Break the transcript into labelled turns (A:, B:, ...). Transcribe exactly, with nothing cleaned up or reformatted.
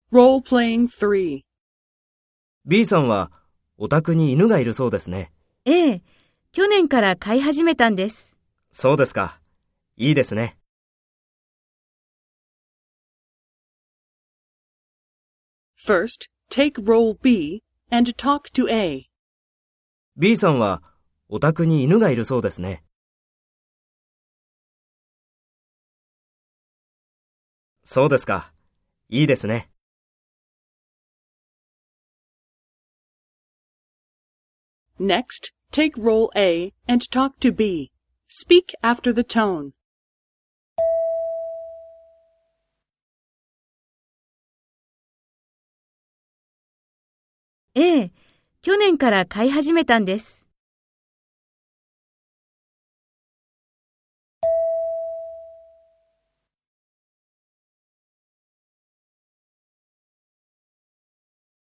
A: Role-playing three.
B: B さんはお宅に犬がいるそうですね。
C: ええ、去年から飼い始めたんです。
B: そうですか。いいですね。
A: First, take role B and talk to A.
B: B さんはお宅に犬がいるそうですね。そうですか。いいですね。
A: Next, take role A and talk to B. Speak after the tone.
C: ええ、去年から飼い始めたんです。